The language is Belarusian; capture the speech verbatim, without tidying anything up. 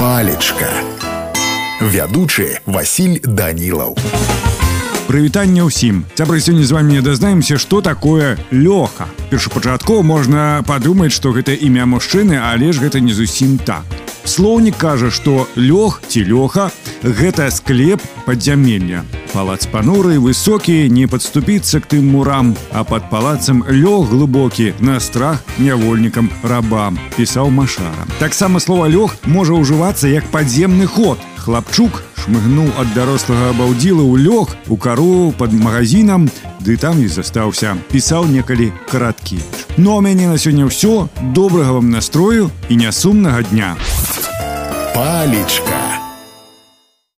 Палечка. Вядучы Васіль Данілаў. Прывітанне ўсім. Цябры, сёння з вами дазнаемся, што такое Лёха. Першапачаткова можна падумаць, што гэта імя мужчыны, але ж гэта не зусім так. Слоўнік кажа, што лёг ці лёха – гэта склеп падзямелля. Палац пануры, высокі, не падступіцца к тым мурам, а пад палацам лёг глыбокі, на страх нявольнікам рабам, пісаў Машара. Таксама слова лёг можа ўжывацца як падземны ход. Хлапчук шмыгнуў ад дарослага абаўдзіла ў лёг у кару пад магазінам, ды там і застаўся, пісаў некалі Караткевіч. Ну а мяне на сёння ўсё. Добрага вам настрою і нясумнага дня. Палечка.